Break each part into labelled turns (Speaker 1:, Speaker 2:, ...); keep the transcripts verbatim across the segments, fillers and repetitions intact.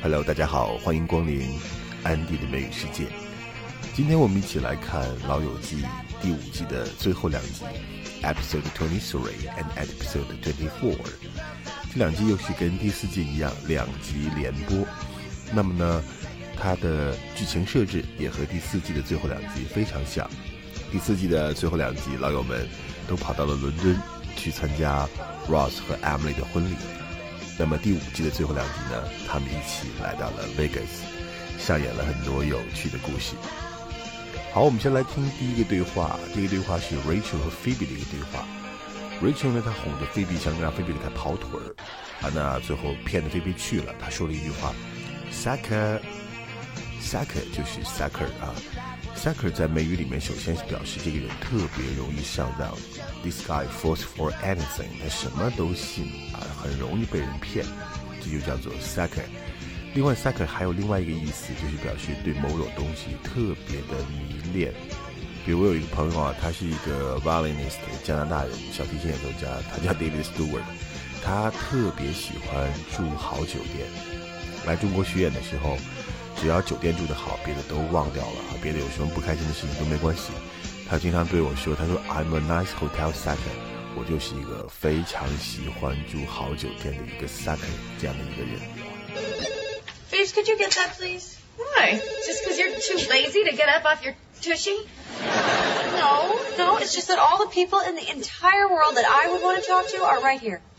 Speaker 1: Hello， 大家好，欢迎光临安迪的美语世界。今天我们一起来看《老友记》第五季的最后两集 ，Episode twenty-three and Episode twenty-four。这两集又是跟第四季一样，两集连播。那么呢，它的剧情设置也和第四季的最后两集非常像。第四季的最后两集，老友们都跑到了伦敦去参加 Ross 和 Emily 的婚礼。那么第五季的最后两集呢，他们一起来到了 Vegas， 上演了很多有趣的故事。好，我们先来听第一个对话。这个对话是 Rachel 和 Phoebe 的一个对话。Rachel 呢，她哄着 Phoebe， 想让 Phoebe 给她跑腿儿，啊，那最后骗着 Phoebe 去了。她说了一句话 ，Sucker，Sucker 就是 Sucker 啊。Sucker 在美语里面，首先是表示这个人特别容易上当。This guy falls for anything， 他什么都信啊，很容易被人骗，这就叫做 Sucker。另外 ，Sucker 还有另外一个意思，就是表示对某种东西特别的迷恋。比如我有一个朋友啊，他是一个 violinist， 加拿大人，小提琴演奏家，他叫 David Stewart， 他特别喜欢住好酒店。来中国学演的时候，只要酒店住得好，别的都忘掉了，别的有什么不开心的事情都没关系。他经常对我说，他说 I'm a nice hotel sucker， 我就是一个非常喜欢住好酒店的一个 sucker 这样的一个人。
Speaker 2: Phoebes, could you get that, please?
Speaker 3: Why? Just because you're too lazy to get up off your tushy?
Speaker 2: No, no, it's just that all the people in the entire world that I would want to talk to are right here.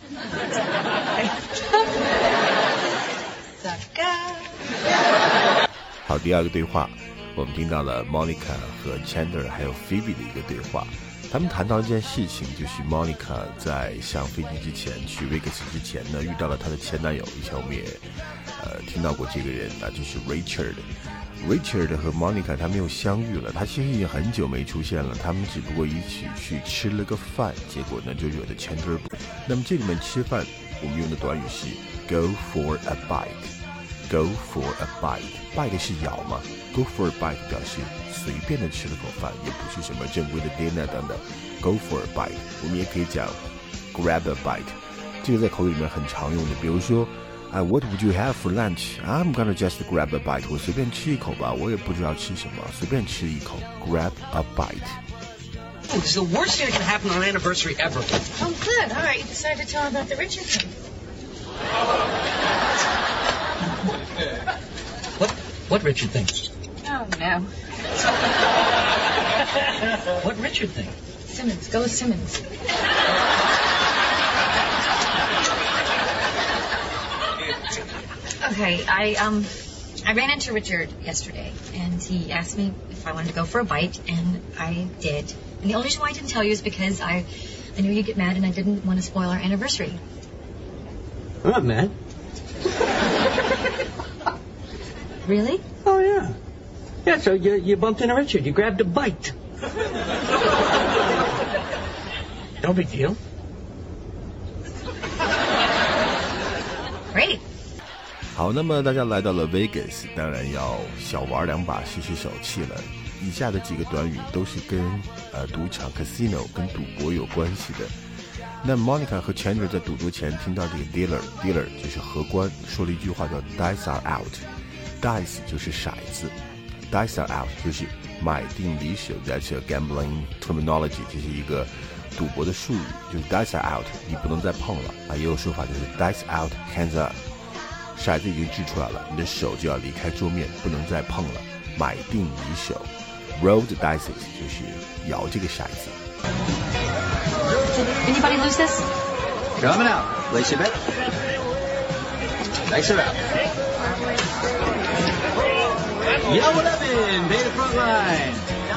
Speaker 2: Sucker.
Speaker 1: 好，第二个对话，我们听到了 Monica 和 Chandler 还有 Phoebe 的一个对话。他们谈到一件事情，就是 Monica 在上飞机之前，去 Vegas 之前呢，遇到了她的前男友。以前我们也呃听到过这个人，那就是 Richard。Richard 和 Monica 他们又相遇了，他其实已经很久没出现了，他们只不过一起去吃了个饭，结果呢就惹得 Chandler 不。那么这里面吃饭，我们用的短语是 go for a bite。Go for a bite， bite 是咬嘛 ？Go for a bite 表示随便的吃了口饭，也不是什么正规的 dinner 等等。Go for a bite， 我们也可以讲 grab a bite， 这个在口语里面很常用的。比如说，啊 ，What would you have for lunch? I'm gonna just grab a bite， 我随便吃一口吧，我也不知道吃什么，随便吃一口 ，grab a bite。
Speaker 4: Oh, this is the worst thing that can happen on an anniversary ever.
Speaker 3: Oh, good. All right, you decided to tell him about the Richard thing.
Speaker 4: What? What Richard thing?
Speaker 3: Oh, no.
Speaker 4: What Richard thing?
Speaker 3: Simmons. Go with Simmons. Okay, I, um, I ran into Richard yesterday, and he asked me if I wanted to go for a bite, and I did. And the only reason why I didn't tell you is because I, I knew you'd get mad, and I didn't want to spoil our anniversary.
Speaker 4: I'm not mad.
Speaker 3: Really?
Speaker 4: Oh, yeah. Yeah, so you, you bumped into Richard. You grabbed a bite. No big deal.
Speaker 3: Great.
Speaker 1: 好，那么大家来到了 Vegas， 当然要小玩两把，试试手气了。以下的几个短语都是跟呃赌场 casino 跟赌博有关系的。那 Monica 和 Chandler 在赌桌前听到这个 dealer dealer 就是荷官说了一句话叫 dice are out。Dice 就是骰子 ，Dice are out 就是买定离手 ，That's a gambling terminology， 这是一个赌博的术语，就是 Dice are out， 你不能再碰了啊。也有说法就是 Dice out, hands up， 骰子已经掷出来了，你的手就要离开桌面，不能再碰了。买定离手 ，Roll the dice 就是摇这个骰子。
Speaker 3: Did anybody lose this?
Speaker 5: Coming out. Place your bet. Dice are out. Yellow eleven, pay the front line.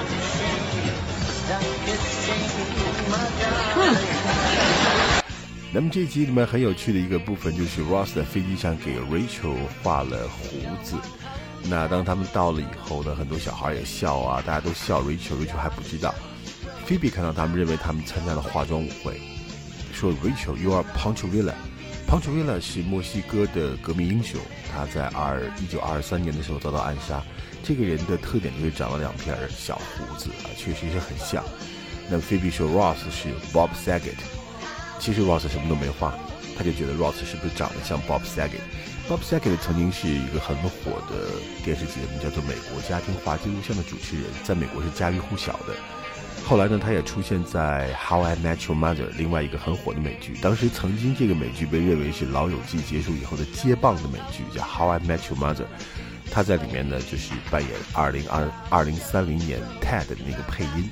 Speaker 1: 那么这集里面很有趣的一个部分就是 Ross 在飞机上给 Rachel 画了胡子。那当他们到了以后呢，很多小孩也笑啊，大家都笑 Rachel，Rachel 还不知道。Phoebe 看到他们，认为他们参加了化妆舞会，说 Rachel you are Pancho Villa。Pancho Villa 是墨西哥的革命英雄，他在一九二三年的时候遭到暗杀。这个人的特点就是长了两片小胡子啊，确实是很像。那么 Phoebe 说 Ross 是 Bob Saget， 其实 Ross 什么都没画，他就觉得 Ross 是不是长得像 Bob Saget， Bob Saget 曾经是一个很火的电视节目，叫做《美国家庭话纪录像》的主持人，在美国是家喻户晓的。后来呢，他也出现在 How I Met Your Mother 另外一个很火的美剧，当时曾经这个美剧被认为是老友记结束以后的接棒的美剧，叫 How I Met Your Mother。他在里面呢就是扮演二零二零三零年 Ted 的那个配音。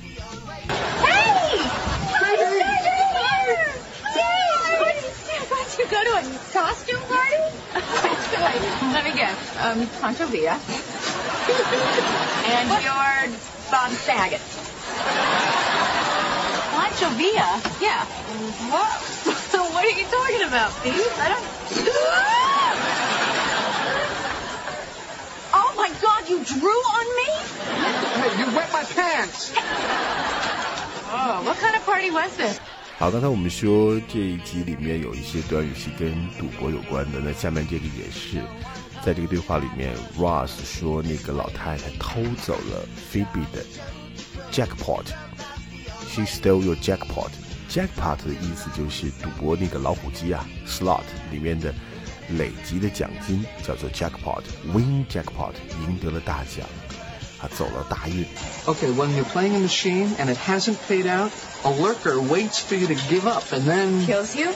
Speaker 2: You go to a costume party? Wait, let me guess. Um, Pancho Villa. And you're Bob Saget. Pancho Villa? Yeah. What? What are you talking about, Steve? I don't... Oh my God, you drew on me?
Speaker 5: Hey, you wet my pants!
Speaker 2: Oh, what kind of party was this?
Speaker 1: 好，刚才我们说这一集里面有一些短语是跟赌博有关的，那下面这个也是，在这个对话里面 Ross 说那个老太太偷走了 Phoebe 的 jackpot. She stole your jackpot. Jackpot 的意思就是赌博那个老虎机啊 slot 里面的累积的奖金叫做 jackpot. Win jackpot 赢得了大奖，他走了大运。
Speaker 5: Okay, when you're playing a machine and it hasn't paid out, a lurker waits for you to give up and then...
Speaker 2: Kills you?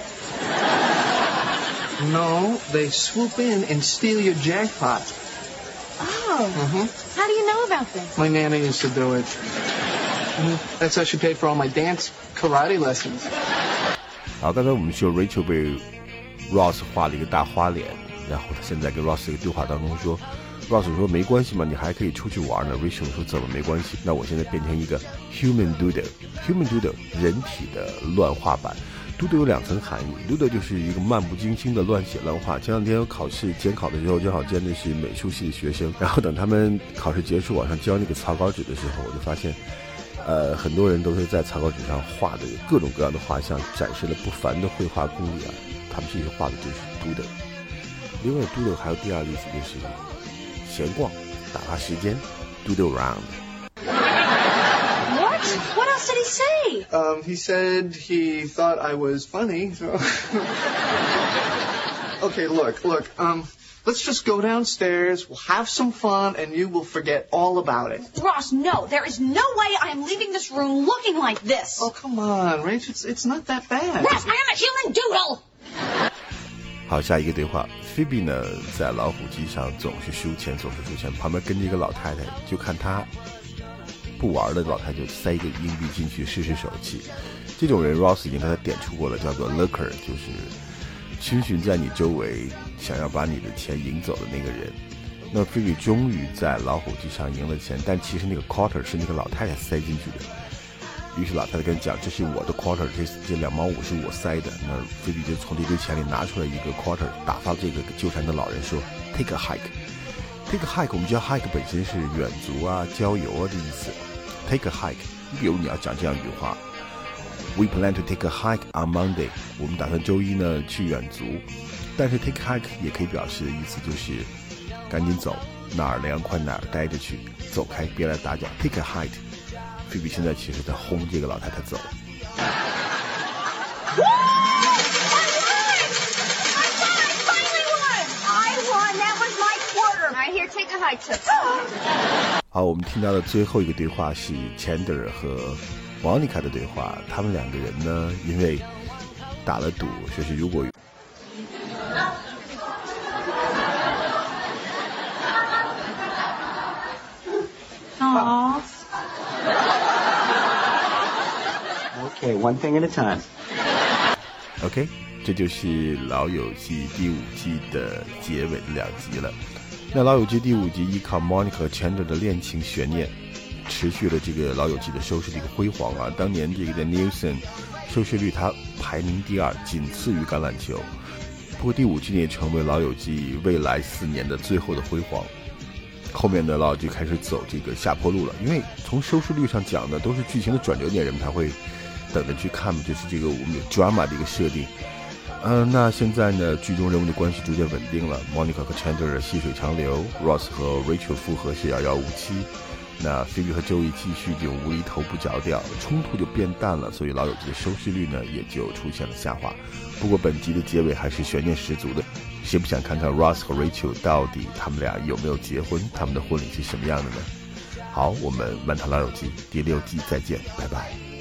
Speaker 5: No, they swoop in and steal your jackpot.
Speaker 2: Oh.
Speaker 5: Mm-hmm.
Speaker 2: How do you know about this?
Speaker 5: My Nana used to do it. Mm-hmm. That's how she paid for all my dance karate lessons.
Speaker 1: 好，刚才我们说 Rachel 被 Ross 画了一个大花脸，然后他现在跟 Ross 这个对话当中说Ross 说没关系嘛，你还可以出去玩呢。Rachel 说怎么没关系？那我现在变成一个 human doodle。human doodle 人体的乱画板。doodle 有两层含义 ，doodle 就是一个漫不经心的乱写乱画。前两天有考试监考的时候，正好见的是美术系的学生，然后等他们考试结束往上交那个草稿纸的时候，我就发现，呃，很多人都是在草稿纸上画的各种各样的画像，展示了不凡的绘画功力啊。他们这些画的就是 doodle。另外 doodle 还有第二个意思就是闲逛，打发时间 ，doodle around.
Speaker 2: What? What else did he say?
Speaker 5: Um, he said he thought I was funny, so... Okay, look, look, um, let's just go downstairs, we'll have some fun, and you will forget all about it.
Speaker 2: Ross, no. There is no way I am leaving this room looking like this.
Speaker 5: Oh, come on, Rach, it's, it's not that bad.
Speaker 2: Ross, I am a human doodle!
Speaker 1: 好，下一个对话 Phoebe 呢在老虎机上总是输钱总是输钱，旁边跟着一个老太太，就看她不玩的老太太就塞一个硬币进去试试手气。这种人 Ross 已经跟他点出过了，叫做 lurker， 就是逡巡在你周围想要把你的钱赢走的那个人。那 Phoebe 终于在老虎机上赢了钱，但其实那个 quarter 是那个老太太塞进去的。于是老太太跟讲，这是我的 quarter， 这这两毛五是我塞的。那菲比就从这堆钱里拿出来一个 quarter， 打发这个纠缠的老人说 ，take a hike。take a hike， 我们知道 hike 本身是远足啊、郊游啊的意思。take a hike， 你比如你要讲这样一句话 ，We plan to take a hike on Monday， 我们打算周一呢去远足。但是 take a hike 也可以表示的意思就是赶紧走，哪儿凉快哪儿待着去，走开，别来打搅。take a hike。菲比现在其实在轰这个老太太走。好，我们听到的最后一个对话是 Chandler 和 Monica 的对话。他们两个人呢，因为打了赌，说是如果
Speaker 2: Aww.
Speaker 4: Okay, one thing at a time.
Speaker 1: OK， 这就是老友记第五季的结尾的两集了。那老友记第五集依靠 Monica 和 Chandler 的恋情悬念，持续了这个老友记的收视的一个辉煌啊。当年这个在 Nielsen 收视率它排名第二，仅次于橄榄球。不过第五季也成为老友记未来四年的最后的辉煌。后面的老友记开始走这个下坡路了，因为从收视率上讲的都是剧情的转折点，人们才会等着去看，就是这个我们有 drama 的一个设定。嗯、呃，那现在呢，剧中人物的关系逐渐稳定了 ，Monica 和 Chandler 细水长流 ，Ross 和 Rachel 复合是遥遥无期。那 Phoebe 和 Joey 继续这种无厘头不着调，冲突就变淡了，所以老友记的收视率呢也就出现了下滑。不过本集的结尾还是悬念十足的。 谁不想看看 Ross 和 Rachel 到底他们俩有没有结婚，他们的婚礼是什么样的呢？好，我们漫谈老友记第六季再见，拜拜。